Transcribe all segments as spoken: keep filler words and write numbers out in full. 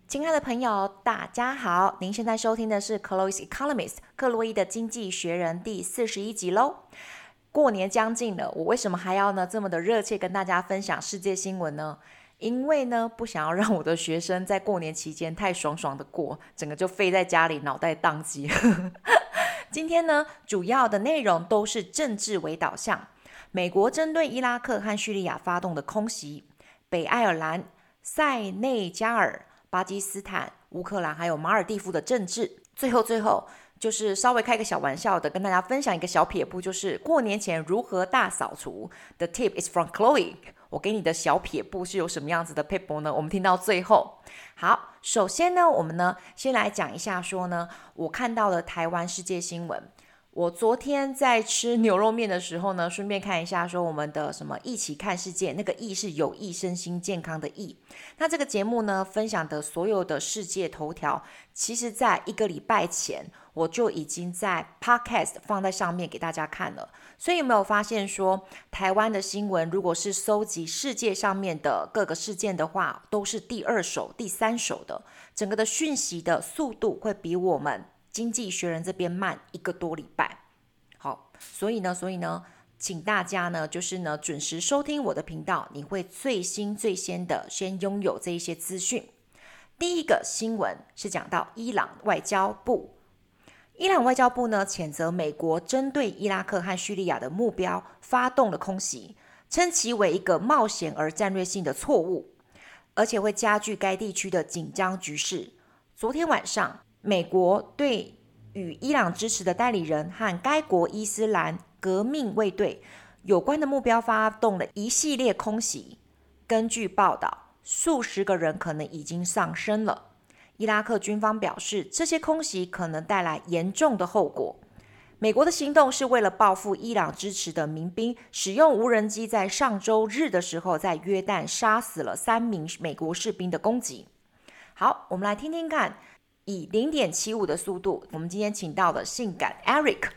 親愛的朋友，大家好！您現在收聽的是 Chloe's Economist 克洛伊的經濟學人第四十一集嘍。過年將近了，我為什麼還要呢這麼的熱切跟大家分享世界新聞呢？因為呢不想要讓我的學生在過年期間太爽爽的過，整個就廢在家裡，腦袋宕機。今天呢主要的內容都是政治為導向，美國針對伊拉克和敘利亞發動的空襲，北愛爾蘭、塞內加爾、巴基斯坦、烏克蘭還有馬爾地夫的政治，最後最後就是稍微開個小玩笑的，跟大家分享一個小撇步，就是過年前如何大掃除。The tip is from Chloe。我給你的小撇步是有什麼樣子的撇步呢？我們聽到最後。好，首先呢，我們呢先來講一下說呢，我看到了台灣世界新聞。我昨天在吃牛肉麵的時候呢，順便看一下說我們的什麼一起看世界，那個益是有益身心健康的益。那這個節目呢，分享的所有的世界頭條，其實在一個禮拜前我就已經在 Podcast 放在上面給大家看了。所以有沒有發現說，台灣的新聞如果是搜集世界上面的各個事件的話，都是第二手、第三手的，整個的訊息的速度會比我們經濟學人這邊慢一個多禮拜。好，所以呢，所以呢，請大家呢，就是呢，準時收聽我的頻道，你會最新最先的先擁有這一些資訊。第一個新聞是講到伊朗外交部，伊朗外交部呢，譴責美國針對伊拉克和敘利亞的目標發動了空襲，稱其為一個冒險而戰略性的錯誤，而且會加劇該地區的緊張局勢。昨天晚上，美國對與伊朗支持的代理人和該國伊斯蘭革命衛隊有關的目標發動了一系列空襲。根據報道，數十個人可能已經喪生了。伊拉克軍方表示，這些空襲可能帶來嚴重的後果。美國的行動是為了報復伊朗支持的民兵使用無人機在上周日的時候在約旦殺死了三名美國士兵的攻擊。好，我們來聽聽看。以 零點七五 的速度，我們今天請到了性感 Eric。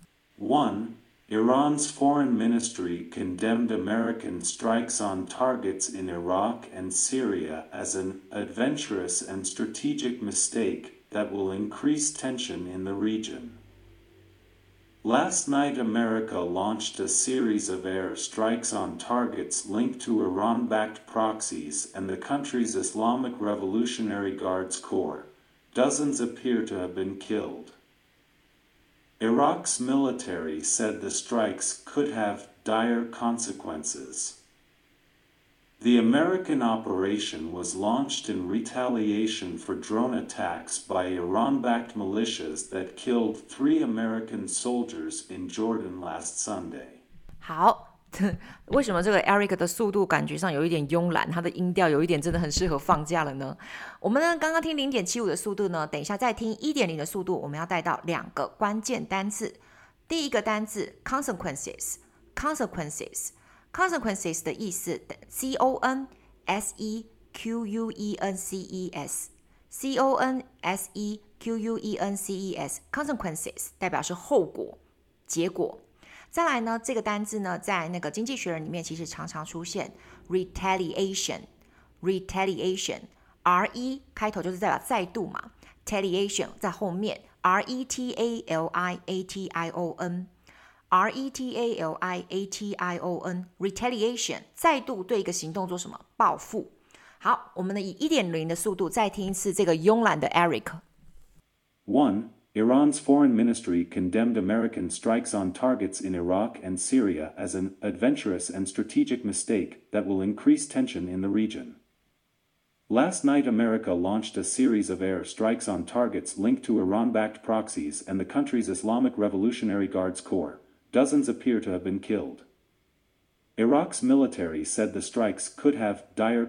One, Iran's foreign ministry condemned American strikes on targets in Iraq and Syria as an adventurous and strategic mistake that will increase tension in the region. Last night, America launched a series of air strikes on targets linked to Iran-backed proxies and the country's Islamic Revolutionary Guards Corps.Dozens appear to have been killed. Iraq's military said the strikes could have dire consequences. The American operation was launched in retaliation for drone attacks by Iran-backed militias that killed three American soldiers in Jordan last Sunday. 好。為什麼這個 Eric 的速度感覺上有一點慵懶，他的音調有一點真的很適合放假了呢？我們呢剛剛聽 零點七五 的速度呢，等一下再聽 一點零 的速度，我們要帶到兩個關鍵單字。第一個單字 consequences consequences consequences 的意思 C O N S E Q U E N C E S C O N S E Q U E N C E S consequences 代表是後果、結果。再來呢，這個單字呢，在那個經濟學人裡面其實常常出現 retaliation retaliation R E 開頭就是代表再度嘛 ，retaliation 在後面 R E T A L I A T I O N R E T A L I A T I O N retaliation 再度對一個行動做什麼？報復。好，我們呢以 一點零 的速度再聽一次這個慵懶的 Eric。 One, Iran's foreign ministry condemned American strikes on targets in Iraq and Syria as an adventurous and strategic mistake that will increase tension in the region. Last night, America launched a series of air strikes on targets linked to Iran-backed proxies and the country's Islamic Revolutionary Guards Corps. Dozens appear to have been killed. Iraq's military said the strikes could have dire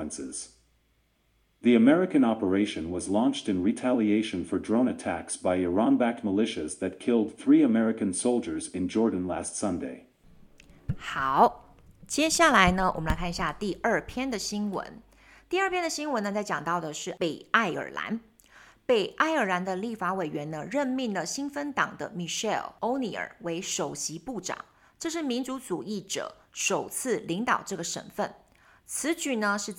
consequences.The American operation was launched in retaliation for drone attacks by Iran-backed militias that killed three American soldiers in Jordan last Sunday. 好，接下來呢，我們來看一下第二篇的新聞。第二篇的新聞呢，在講到的是北愛爾蘭。北愛爾蘭的立法委員呢，任命了新芬黨的 Michelle O'Neill 為首席部長，這是民族主義者首次領導這個省份。此舉呢，是在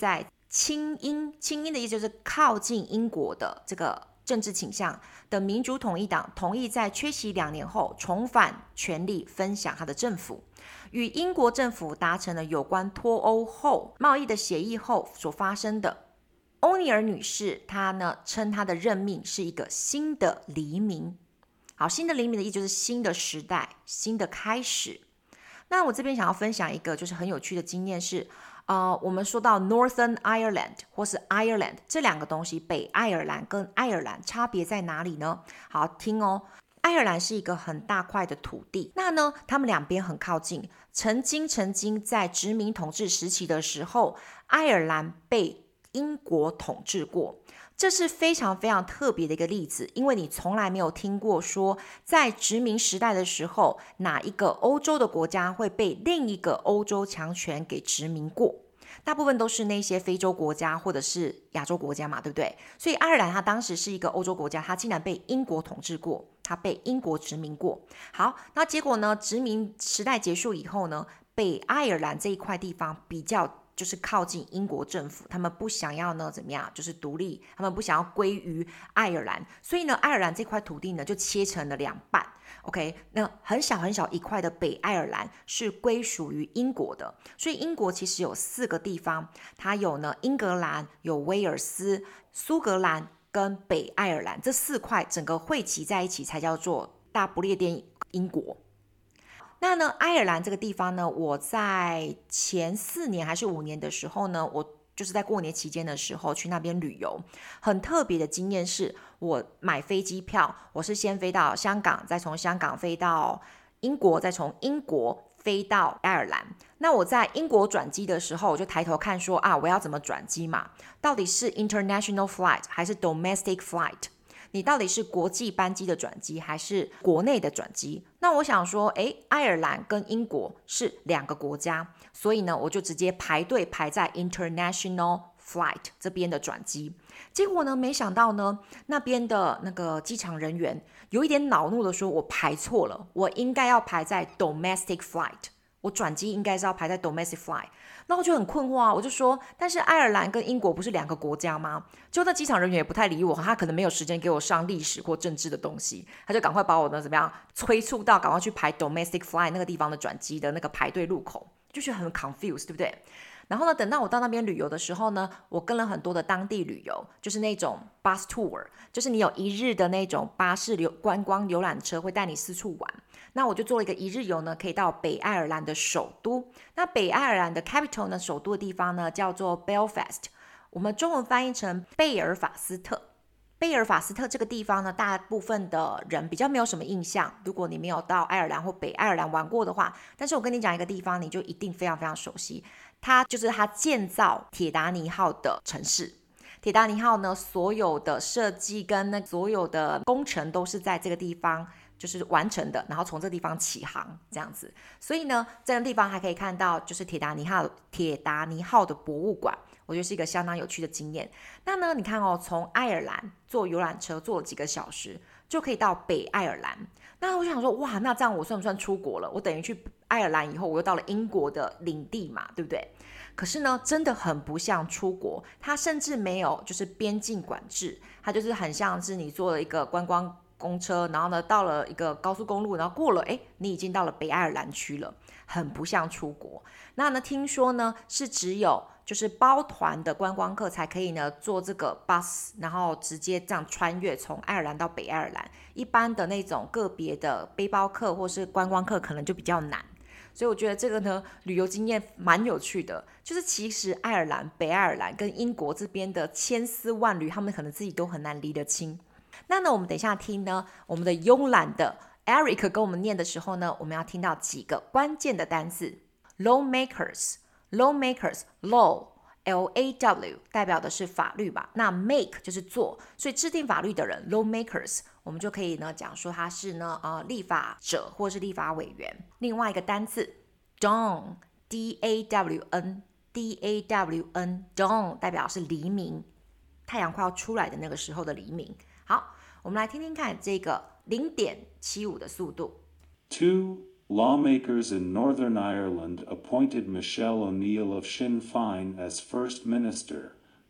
親英，親英的意思就是靠近英國的這個政治傾向的民主統一黨同意在缺席兩年後重返權力，分享他的政府，與英國政府達成了有關脫歐後貿易的協議後所發生的。歐尼爾女士她呢稱她的任命是一個新的黎明。好，新的黎明的意思就是新的時代，新的開始。那我這邊想要分享一個就是很有趣的經驗是，呃，我們說到 Northern Ireland 或是 Ireland 這兩個東西，北愛爾蘭跟愛爾蘭差別在哪裡呢？好，聽哦，愛爾蘭是一個很大塊的土地，那呢，他們兩邊很靠近，曾經曾經在殖民統治時期的時候，愛爾蘭被英國統治過。這是非常非常特別的一個例子，因為你從來沒有聽過說，在殖民時代的時候，哪一個歐洲的國家會被另一個歐洲強權給殖民過？大部分都是那些非洲國家或者是亞洲國家嘛，對不對？所以愛爾蘭它當時是一個歐洲國家，它竟然被英國統治過，它被英國殖民過。好，那結果呢？殖民時代結束以後呢，北愛爾蘭這一塊地方比較就是靠近英國政府，他們不想要呢怎麼樣，就是獨立，他們不想要歸於愛爾蘭，所以呢，愛爾蘭這塊土地呢就切成了兩半。OK， 那很小很小一塊的北愛爾蘭是歸屬於英國的，所以英國其實有四個地方，它有呢英格蘭、有威爾斯、蘇格蘭跟北愛爾蘭這四塊，整個匯集在一起才叫做大不列顛英國。那呢，愛爾蘭這個地方呢，我在前四年還是五年的時候呢，我就是在過年期間的時候去那邊旅遊。很特別的經驗是，我買飛機票，我是先飛到香港，再從香港飛到英國，再從英國飛到愛爾蘭。那我在英國轉機的時候，我就抬頭看說啊，我要怎麼轉機嘛？到底是 international flight 還是 domestic flight？你到底是國際班機的轉機還是國內的轉機？那我想說，誒，愛爾蘭跟英國是兩個國家，所以呢，我就直接排隊排在 international flight 這邊的轉機。結果呢，沒想到呢，那邊的那個機場人員有一點惱怒的說，我排錯了，我應該要排在 domestic flight， 我轉機應該是要排在 domestic flight。那我就很困惑啊，我就說，但是愛爾蘭跟英國不是兩個國家嗎？就那機場人員也不太理我，他可能沒有時間給我上歷史或政治的東西，他就趕快把我呢怎麼樣催促到趕快去排 domestic flight 那個地方的轉機的那個排隊路口，就覺得很 confused， 對不對？然後呢，等到我到那邊旅遊的時候呢，我跟了很多的當地旅遊，就是那種 bus tour， 就是你有一日的那種巴士遊觀光遊覽車會帶你四處玩。那我就做了一個一日遊呢，可以到北愛爾蘭的首都。那北愛爾蘭的 capital 呢，首都的地方呢叫做 Belfast， 我們中文翻譯成貝爾法斯特。貝爾法斯特這個地方呢，大部分的人比較沒有什麼印象，如果你沒有到愛爾蘭或北愛爾蘭玩過的話，但是我跟你講一個地方，你就一定非常非常熟悉，它就是它建造鐵達尼號的城市。鐵達尼號呢，所有的設計跟那所有的工程都是在這個地方就是完成的，然後從這個地方起航這樣子。所以呢，這個地方還可以看到就是鐵達尼號鐵達尼號的博物館，我覺得是一個相當有趣的經驗。那呢，你看哦，從愛爾蘭坐遊覽車坐了幾個小時，就可以到北愛爾蘭。那我想說，哇，那這樣我算不算出國了？我等於去愛爾蘭以後，我又到了英國的領地嘛，對不對？可是呢，真的很不像出國，它甚至沒有就是邊境管制，它就是很像是你坐了一個觀光公車，然後呢到了一個高速公路，然後過了，哎，你已經到了北愛爾蘭區了，很不像出國。那呢，聽說呢是只有就是包團的觀光客才可以呢坐這個 bus， 然後直接這樣穿越從愛爾蘭到北愛爾蘭。一般的那種個別的背包客或是觀光客可能就比較難。所以我覺得這個呢，旅遊經驗蠻有趣的，就是其實愛爾蘭、北愛爾蘭跟英國這邊的千絲萬縷，他們可能自己都很難離得清。那呢，我們等一下聽呢，我們的慵懶的 Eric 跟我們念的時候呢，我們要聽到幾個關鍵的單字 lawmakers lawmakers law L A W 代表的是法律吧，那 make 就是做，所以制定法律的人 lawmakers， 我們就可以呢講說他是呢呃立法者或是立法委員。另外一個單字 dawn D A W N D A W N dawn 代表是黎明，太陽快要出來的那個時候的黎明。好，我們來聽聽看這個零點七五的速度。 Two lawmakers in Northern Ireland appointed Michelle O'Neill of Sinn Féin as First Minister,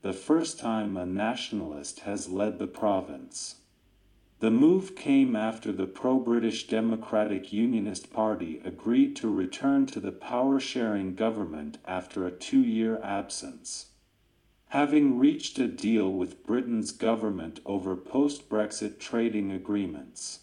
the first time a nationalist has led the province. The move came after the pro-British Democratic Unionist Party agreed to return to the power-sharing government after a two-year absence. Having reached a deal with Britain's government over post-Brexit trading agreements.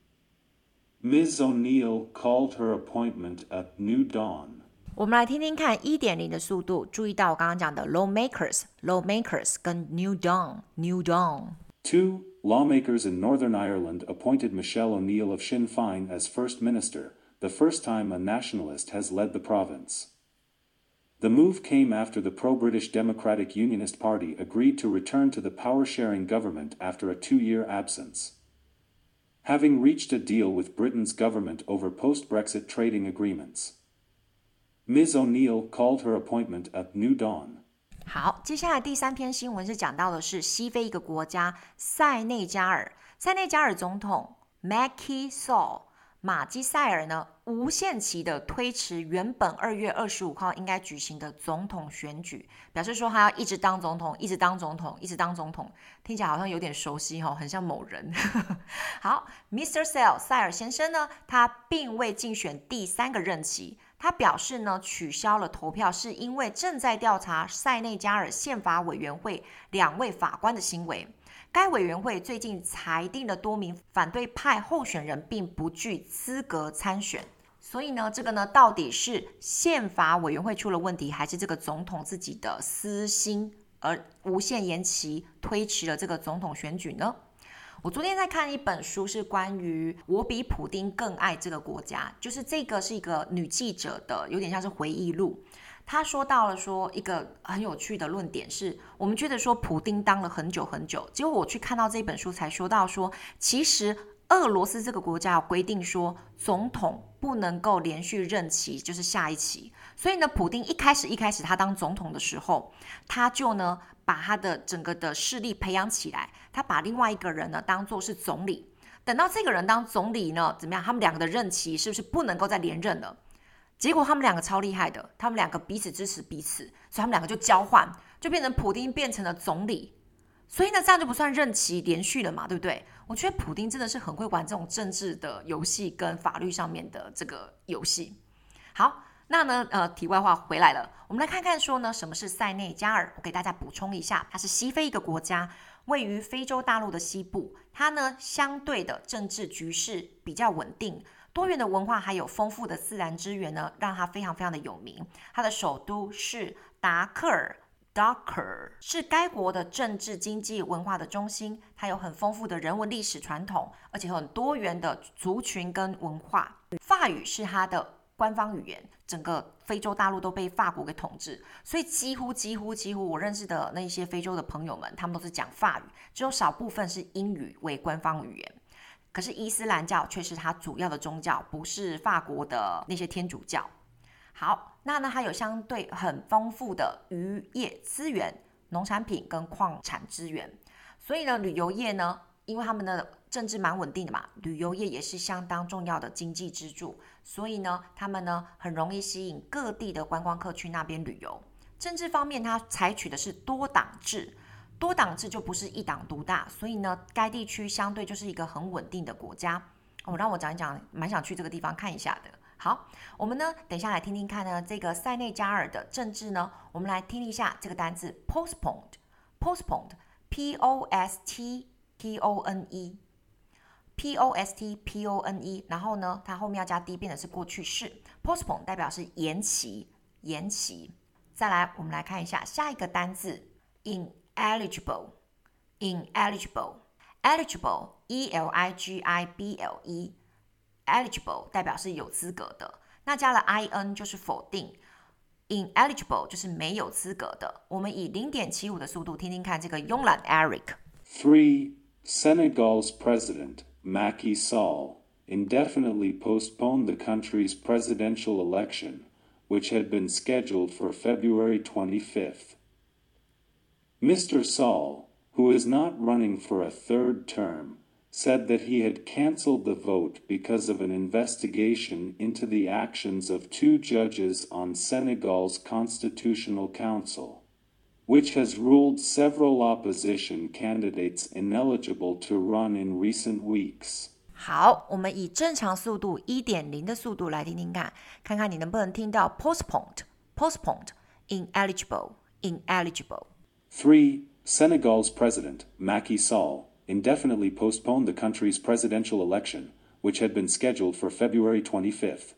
Miz O'Neill called her appointment a new dawn. 我們來聽聽看 一點零 的速度，注意到我剛剛講的 lawmakers lawmakers 跟 new dawn new dawn. Two lawmakers in Northern Ireland appointed Michelle O'Neill of Sinn Féin as First Minister, the first time a nationalist has led the province. The move came after the pro-British Democratic Unionist Party agreed to return to the power-sharing government after a two-year absence. Having reached a deal with Britain's government over post-Brexit trading agreements. Miz O'Neill called her appointment a new dawn. 好，接下來第三篇新聞是講到的是西非一個國家塞內加爾，塞內加爾總統 Macky Sall 馬基塞爾呢，無限期的推遲原本二月二十五號應該舉行的總統選舉，表示說他要一直當總統，一直當總統，一直當總統，聽起來好像有點熟悉哦，很像某人。好 ，Mister Sall 塞爾先生呢，他並未競選第三個任期。他表示呢，取消了投票是因為正在調查塞內加爾憲法委員會兩位法官的行為。該委員會最近裁定了多名反對派候選人並不具資格參選。所以呢，這個呢，到底是憲法委員會出了問題，還是這個總統自己的私心而無限延期推遲了這個總統選舉呢？我昨天在看一本書，是關於我比普丁更愛這個國家，就是這個是一個女記者的，有點像是回憶錄。她說到了說一個很有趣的論點是，我們覺得說普丁當了很久很久，結果我去看到這本書才說到說，其實俄羅斯這個國家有規定說總統不能夠連續任期，就是下一期。所以呢，普丁一開始一開始他當總統的時候，他就呢把他的整個的勢力培養起來，他把另外一個人呢當作是總理。等到這個人當總理呢，怎麼樣？他們兩個的任期是不是不能夠再連任了？結果他們兩個超厲害的，他們兩個彼此支持彼此，所以他們兩個就交換，就變成普丁變成了總理。所以呢，這樣就不算任期連續了嘛，對不對？我覺得普丁真的是很會玩這種政治的遊戲跟法律上面的這個遊戲。好，那呢，呃，題外話回來了，我們來看看說呢，什麼是塞內加爾？我給大家補充一下，它是西非一個國家，位於非洲大陸的西部。它呢，相對的政治局勢比較穩定，多元的文化還有豐富的自然資源呢，讓它非常非常的有名。它的首都是達克爾。Dakar 是該國的政治、經濟、文化的中心，它有很豐富的人文歷史傳統，而且很多元的族群跟文化。法語是它的官方語言，整個非洲大陸都被法國給統治，所以幾乎幾乎幾乎我認識的那些非洲的朋友們，他們都是講法語，只有少部分是英語為官方語言。可是伊斯蘭教卻是它主要的宗教，不是法國的那些天主教。好，那呢，它有相對很豐富的漁業資源、農產品跟礦產資源，所以呢，旅遊業呢，因為他們的政治蠻穩定的嘛，旅遊業也是相當重要的經濟支柱，所以呢，他們呢很容易吸引各地的觀光客去那邊旅遊。政治方面，它採取的是多黨制，多黨制就不是一黨獨大，所以呢，該地區相對就是一個很穩定的國家。哦，讓我講一講，蠻想去這個地方看一下的。好，我們呢，等一下來聽聽看呢，這個塞內加爾的政治呢，我們來聽一下這個單字 postponed，postponed，P O S T P O N E，P O S T P O N E， 然後呢，它後面要加 D 變的是過去式 ，postpone 代表是延期，延期。再來，我們來看一下下一個單字 ineligible，ineligible，eligible，E L I G I B L E。eligible 代表是有資格的，那加了 in 就是否定 ，ineligible 就是沒有資格的。我們以 零點七五 的速度聽聽看這個慵懶 Eric。 Three, Senegal's president, Macky Sall, indefinitely postponed the country's presidential election, which had been scheduled for February twenty-fifth. Mister Sall, who is not running for a third term, said that he had canceled the vote because of an investigation into the actions of two judges on Senegal's Constitutional Council. which has ruled several opposition candidates ineligible to run in recent weeks. 好，我們以正常速度 一點零 的速度來聽聽看，看看你能不能聽到 postponed, postponed, ineligible, ineligible. Three, Senegal's president, Macky Sall, indefinitely postponed the country's presidential election, which had been scheduled for February twenty-fifth.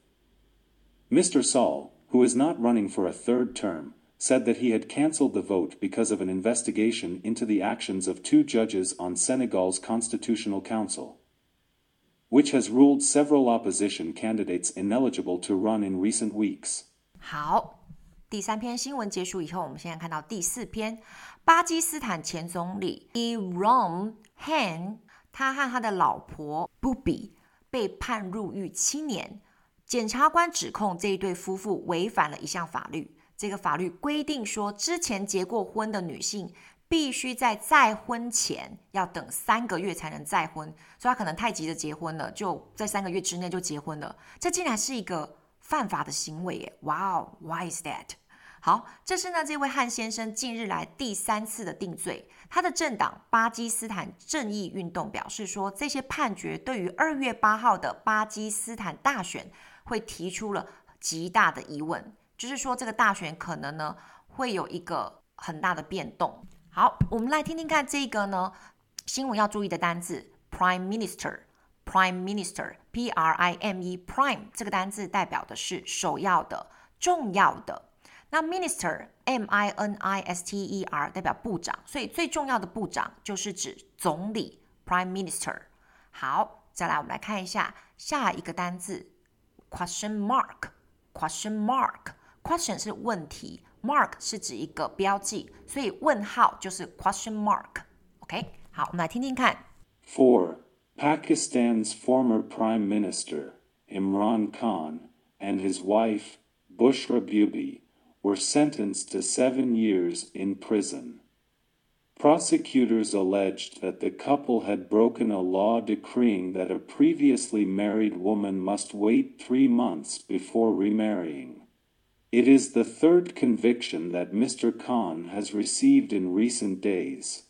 Mister Sall, who is not running for a third term, said that he had cancelled the vote because of an investigation into the actions of two judges on Senegal's Constitutional Council, which has ruled several opposition candidates ineligible to run in recent weeks. 好，第三篇新聞結束以後，我們現在看到第四篇，巴基斯坦前總理 Imran Khan， 他和他的老婆 Bubi 被判入獄七年。檢察官指控這一對夫婦違反了一項法律，這個法律規定說，之前結過婚的女性必須在再婚前要等三個月才能再婚，所以他可能太急着結婚了，就在三個月之內就結婚了。這竟然是一個犯法的行為耶！哇哦 ，Why is that？ 好，這是呢這位漢先生近日來第三次的定罪。他的政黨巴基斯坦正義運動表示說，這些判決對於二月八號的巴基斯坦大選會提出了極大的疑問，就是說這個大選可能呢會有一個很大的變動。好，我們來聽聽看這個呢新聞要注意的單字 Prime Minister Prime Minister P R I M E Prime 這個單字代表的是首要的、重要的。那 Minister M I N I S T E R 代表部長，所以最重要的部長就是指總理 Prime Minister。 好，再來我們來看一下下一個單字Question mark, question mark, question 是問題 ，mark 是指一個標記，所以問號就是 question mark。OK， 好，我們來聽聽看。 Four, Pakistan's former Prime Minister Imran Khan and his wife Bushra Bibi were sentenced to seven years in prison. Prosecutors alleged that the couple had broken a law decreeing that a previously married woman must wait three months before remarrying. It is the third conviction that Mister Khan has received in recent days.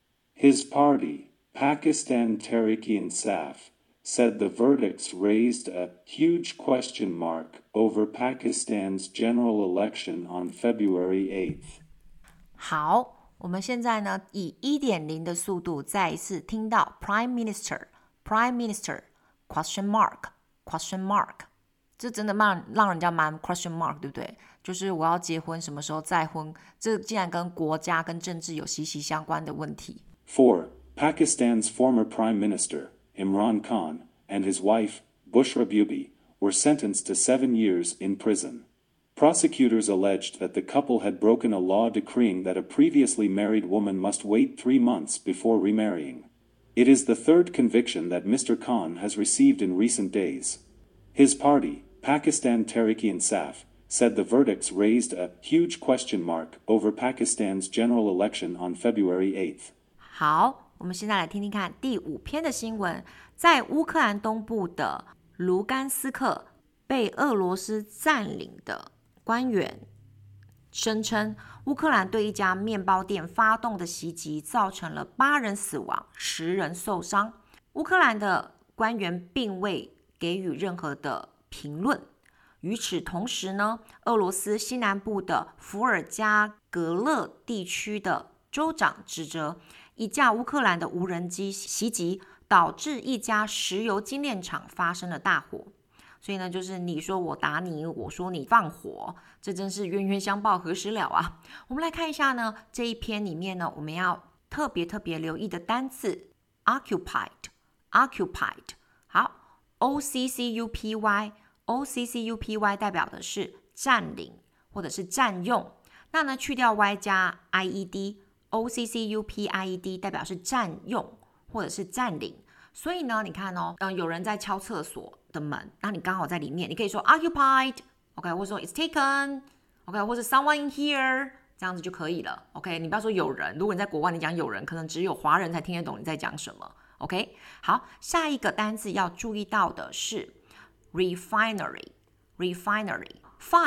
His party, Pakistan Tehreek-e-Insaf, said the verdicts raised a huge question mark over Pakistan's general election on February eighth. 好。我們現在呢，以 一點零 的速度再一次聽到 Prime Minister, Prime Minister, question mark, question mark， 這真的蠻讓人家蠻 question mark， 對不對？就是我要結婚，什麼時候再婚？這竟然跟國家跟政治有息息相關的問題。 Four, Pakistan's former Prime Minister Imran Khan and his wife Bushra Bibi were sentenced to seven years in prison. Prosecutors alleged that the couple had broken a law decreeing that a previously married woman must wait three months before remarrying. It is the third conviction that Mister Khan has received in recent days. His party, Pakistan Tehreek-e-Insaf, said the verdicts raised a huge question mark over Pakistan's general election on February eighth. 好，我們現在來聽聽看第五篇的新聞。在烏克蘭東部的盧甘斯克被俄羅斯佔領的官員聲稱，烏克蘭對一家麵包店發動的襲擊造成了八人死亡、十人受傷。烏克蘭的官員並未給予任何的評論。與此同時呢，俄羅斯西南部的伏爾加格勒地區的州長指責一架烏克蘭的無人機襲擊，導致一家石油精煉廠發生了大火。所以呢，就是你說我打你，我說你放火，這真是冤冤相報何時了啊！我們來看一下呢，這一篇裡面呢，我們要特別特別留意的單字 occupied occupied 好 O C C U P Y O C C U P Y 代表的是佔領或者是佔用，那呢去掉 Y 加 I E D O C C U P I E D 代表是佔用或者是佔領。所以呢，你看哦，嗯，有人在敲廁所的門，那你剛好在裡面，你可以說 occupied，OK， 或者說 it's taken，OK， 或者 someone in here， 這樣子就可以了 ，OK。你不要說有人，如果你在國外，你講有人，可能只有華人才聽得懂你在講什麼 ，OK。好，下一個單字要注意到的是 refinery，refinery，fine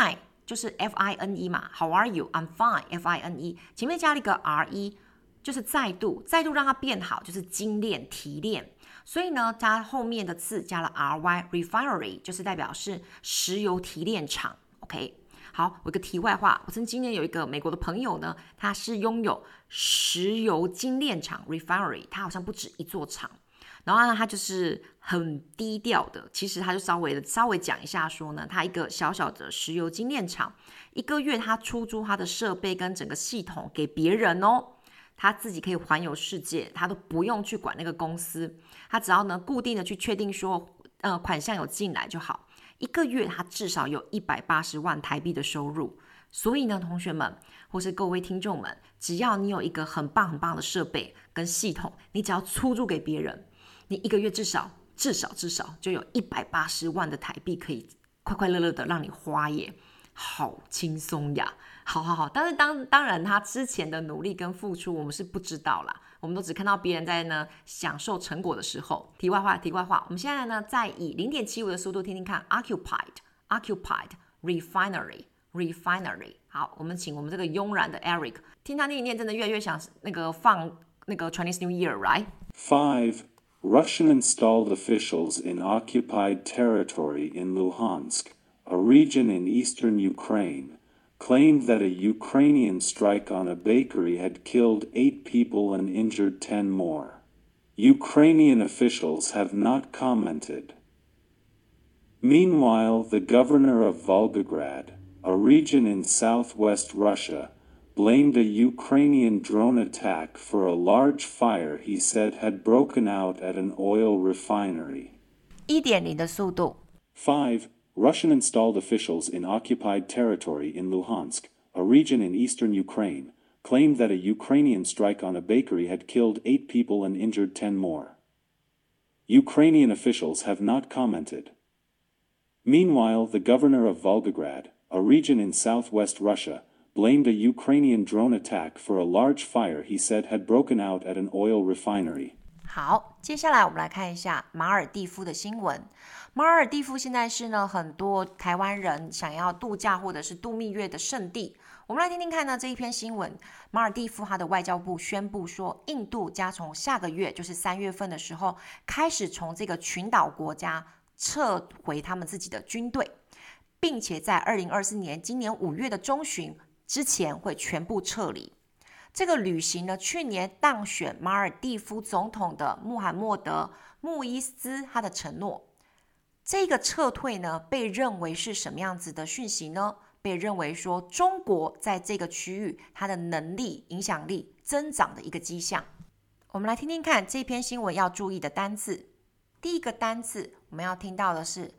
就是 F I N E 嘛 ，How are you? I'm fine. F I N E 前面加了一個 R E， 就是再度，再度讓它變好，就是精煉、提煉。所以呢，它後面的字加了 R Y，refinery 就是代表是石油提煉廠。OK， 好，我有個題外話，我曾經有一個美國的朋友呢，他是擁有石油精煉廠 refinery， 他好像不止一座廠。然後呢，他就是很低調的，其實他就稍微的稍微講一下說呢，他一個小小的石油精煉廠，一個月他出租他的設備跟整個系統給別人哦，他自己可以環遊世界，他都不用去管那個公司，他只要呢固定的去確定說，呃，款項有進來就好，一個月他至少有一百八十萬台幣的收入。所以呢，同學們或是各位聽眾們，只要你有一個很棒很棒的設備跟系統，你只要出租給別人，你一個月至少至少至少就有一百八十萬的台幣可以快快樂樂的讓你花耶，好輕鬆呀！好好好，但是當當然他之前的努力跟付出我們是不知道啦，我們都只看到別人在呢享受成果的時候。題外話，題外話，我們現在呢再以 零點七五 的速度聽聽看 occupied occupied refinery refinery。好，我們請我們這個慵懶的 Eric 聽他念一念，真的越來越想那個放那個 Chinese New Year right Five Russian-installed officials in occupied territory in Luhansk, a region in eastern Ukraine, claimed that a Ukrainian strike on a bakery had killed eight people and injured ten more. Ukrainian officials have not commented. Meanwhile, the governor of Volgograd, a region in southwest Russia, blamed a Ukrainian drone attack for a large fire he said had broken out at an oil refinery. 一點零 的速度。 Five Russian-installed officials in occupied territory in Luhansk, a region in eastern Ukraine, claimed that a Ukrainian strike on a bakery had killed eight people and injured ten more. Ukrainian officials have not commented. Meanwhile, the governor of Volgograd, a region in southwest Russia, blamed a Ukrainian drone attack for a large fire he said had broken out at an oil refinery. 好，接下來我們來看一下馬爾地夫的新聞。馬爾地夫現在是呢很多台灣人想要度假或者是度蜜月的聖地。我們來聽聽看呢這一篇新聞。馬爾地夫它的外交部宣布說，印度將從下個月，就是三月份的時候，開始從這個群島國家撤回他們自己的軍隊，並且在二零二四年今年五月的中旬之前會全部撤離。這個旅行呢，去年當選馬爾地夫總統的穆罕默德·穆伊斯他的承諾。這個撤退呢，被認為是什麼樣子的訊息呢？被認為說中國在這個區域它的能力、影響力增長的一個跡象。我們來聽聽看這篇新聞要注意的單字。第一個單字我們要聽到的是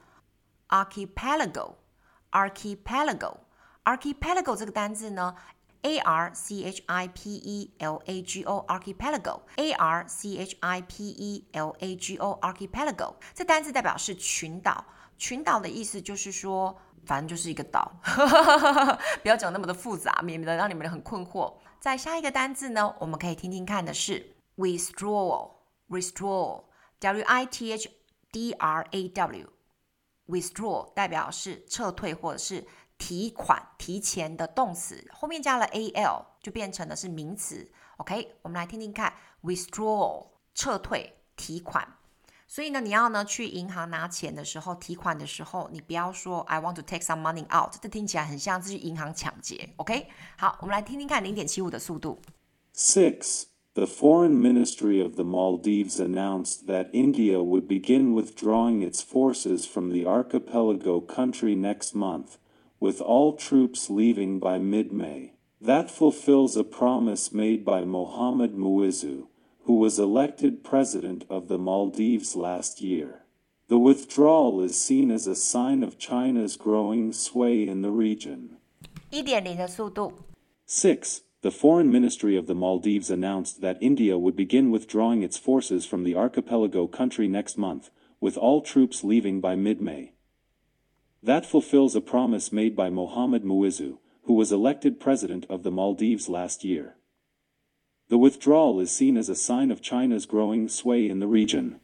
archipelago。archipelago。archipelago 這個單字呢 A R C H I P E L A G O archipelago A R C H I P E L A G O archipelago 這單字代表是群島。群島的意思就是說反正就是一個島不要講那麼的複雜，免得讓你們很困惑。在下一個單字呢，我們可以聽聽看的是 withdrawal withdrawal W I T H D R A W withdraw 代表是撤退或者是提款提前的動詞，後面加了 A L 就變成的是名詞。 OK， 我們來聽聽看 withdrawal 撤退提款。所以呢，你要呢去銀行拿錢的時候，提款的時候，你不要說 I want to take some money out， 這聽起來很像是去銀行搶劫。 OK， 好，我們來聽聽看 零點七五 的速度。 Six The Foreign Ministry of the Maldives announced that India would begin withdrawing its forces from the archipelago country next month, with all troops leaving by mid-May. That fulfills a promise made by Mohamed Muizzu, who was elected president of the Maldives last year. The withdrawal is seen as a sign of China's growing sway in the region. 一點零 的速度。 Six The Foreign Ministry of the Maldives announced that India would begin withdrawing its forces from the archipelago country next month, with all troops leaving by mid-May. That fulfills a promise made by Mohamed Muizzu, who was elected president of the Maldives last year. The withdrawal is seen as a sign of China's growing sway in the region.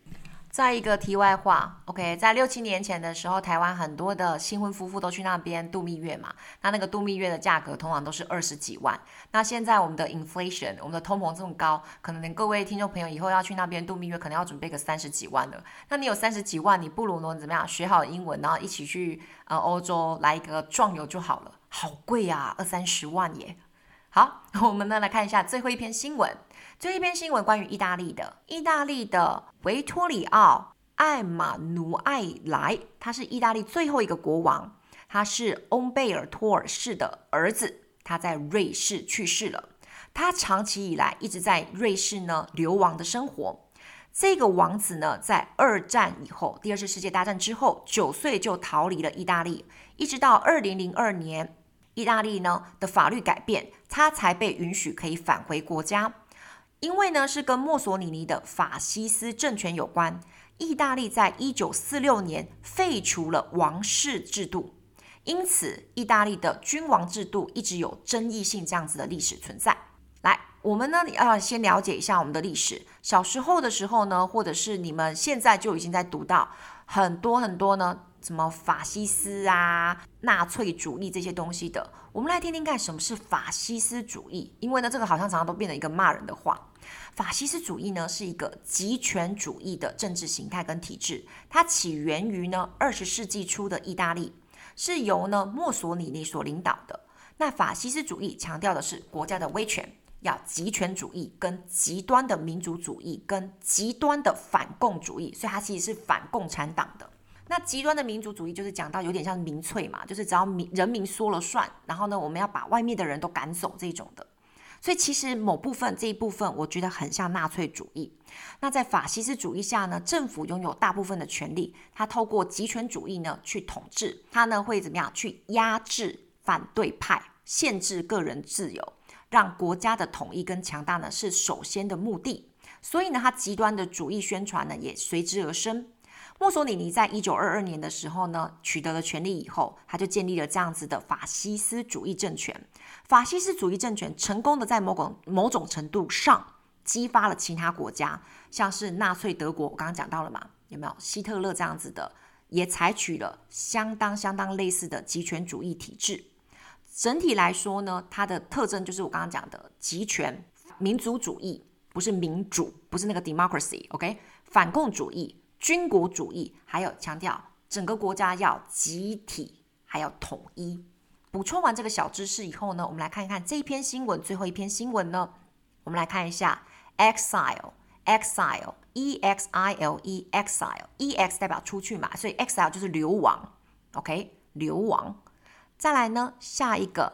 再一個題外話 ，OK， 在六七年前的時候，台灣很多的新婚夫婦都去那邊度蜜月嘛。那那個度蜜月的價格通常都是二十幾萬。那現在我們的 inflation， 我們的通膨這麼高，可能各位聽眾朋友以後要去那邊度蜜月，可能要準備個三十幾萬了。那你有三十幾萬，你不如呢怎麼樣？學好英文，然後一起去呃歐洲來一個壯遊就好了。好貴啊，二三十萬耶。好，我們呢來看一下最後一篇新聞。最後一篇新聞關於意大利的，意大利的維托里奧·艾馬努艾萊，他是意大利最後一個國王，他是翁貝爾托二世的兒子，他在瑞士去世了。他長期以來一直在瑞士呢流亡的生活。這個王子呢，在二戰以後，第二次世界大戰之後，九歲就逃離了意大利，一直到二零零二年，意大利呢的法律改變，他才被允許可以返回國家。因為呢是跟墨索里尼的法西斯政權有關，意大利在一九四六年廢除了王室制度，因此意大利的君王制度一直有爭議性這樣子的歷史存在。來，我們呢要先了解一下我們的歷史。小時候的時候呢，或者是你們現在就已經在讀到很多很多呢，什麼法西斯啊、納粹主義這些東西的。我們來聽聽看什麼是法西斯主義，因為呢這個好像常常都變成一個罵人的話。法西斯主義呢是一個極權主義的政治形態跟體制，它起源於呢二十世紀初的意大利，是由呢墨索里尼所領導的。那法西斯主義強調的是國家的威權，要極權主義跟極端的民族主義跟極端的反共主義，所以它其實是反共產黨的。那極端的民族主義就是講到有點像民粹嘛，就是只要民人民說了算，然後呢我們要把外面的人都趕走這種的。所以其實某部分這一部分我覺得很像納粹主義。那在法西斯主義下呢，政府擁有大部分的權力，它透過極權主義呢去統治，它呢會怎麼樣去壓制反對派，限制個人自由，讓國家的統一跟強大呢是首先的目的。所以呢它極端的主義宣傳呢也隨之而生。墨索里尼在一九二二年的時候呢，取得了權力以後，他就建立了這樣子的法西斯主義政權。法西斯主義政權成功的在某種某種程度上激發了其他國家，像是納粹德國，我剛剛講到了嘛，有沒有希特勒這樣子的，也採取了相當相當類似的極權主義體制。整體來說呢，它的特徵就是我剛剛講的極權、民族主義，不是民主，不是那個 democracy，OK， 反共主義。軍國主義，還有強調整個國家要集體，還要統一。補充完這個小知識以後呢，我們來看一看這一篇新聞，最後一篇新聞呢，我們來看一下 exile exile e x i l e exile e x 代表出去嘛，所以 exile 就是流亡 ，OK 流亡。再來呢，下一個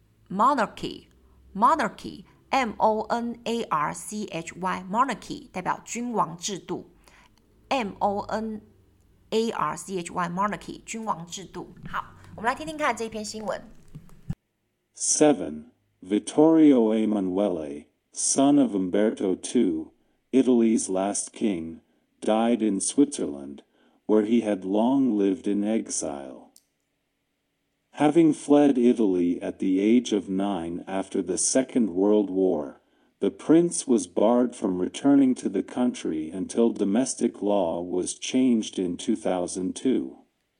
monarchy monarchy m o n a r c h y monarchy 代表君王制度。M O N A R C H Y monarchy 君王制度。好，我們來聽聽看這一篇新聞。 seven. Vittorio Emanuele, son of Umberto the Second, Italy's last king, died in Switzerland, where he had long lived in exile. Having fled Italy at the age of nine after the Second World War, the prince was barred from returning to the country until domestic law was changed in two thousand two.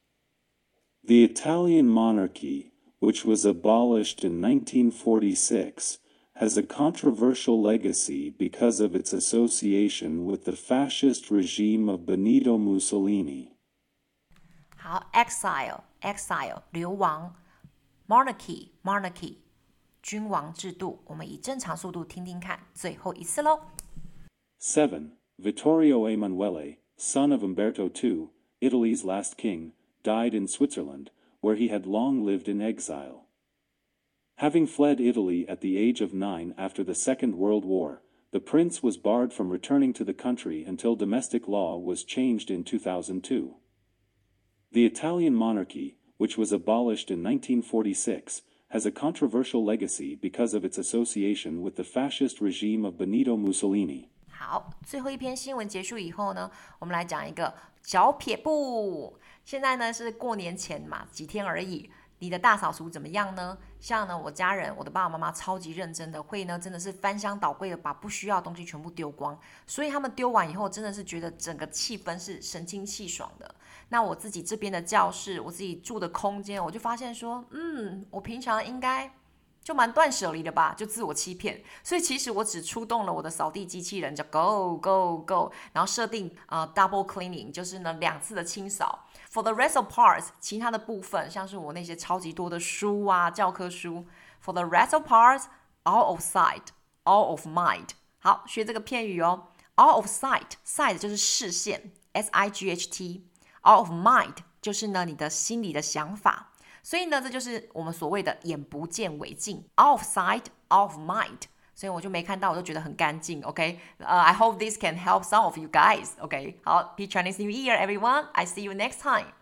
The Italian monarchy, which was abolished in nineteen forty-six, has a controversial legacy because of its association with the fascist regime of Benito Mussolini. 好 exile exile 流亡 monarchy monarchy君王制度，我們以正常速度聽聽看，最後一次嘍。 seven. Vittorio Emanuele, son of Umberto the Second, Italy's last king, died in Switzerland, where he had long lived in exile. Having fled Italy at the age of nine after the Second World War, the prince was barred from returning to the country until domestic law was changed in two thousand two. The Italian monarchy, which was abolished in nineteen forty-six, has a controversial legacy because of its association with the fascist regime of Benito Mussolini. 好，最後一篇新聞結束以後呢，我們來講一個小撇步。現在呢是過年前嘛，幾天而已。 你的大掃除怎麼樣呢？像呢，我家人，我的爸爸媽媽超級認真的，會呢真的是翻箱倒櫃的把不需要的東西全部丟光，所以他們丟完以後，真的是覺得整個氣氛是神清氣爽的。那我自己這邊的教室，我自己住的空間，我就發現說，嗯，我平常應該就蠻斷捨離的吧，就自我欺騙。所以其實我只出動了我的掃地機器人，叫 Go Go Go， 然後設定呃 Double Cleaning， 就是呢兩次的清掃。For the rest of parts， 其他的部分，像是我那些超級多的書啊，教科書。For the rest of parts, all of sight, all of mind。好，學這個片語哦。All of sight， sight 就是視線 ，S I G H T。All of mind 就是呢你的心裡的想法。所以呢，這就是我們所謂的眼不見為淨。All of sight, all of mind。所以我就沒看到，我就覺得很乾淨。OK，uh, I hope this can help some of you guys. OK， 好，Happy Chinese New Year, everyone. I see you next time.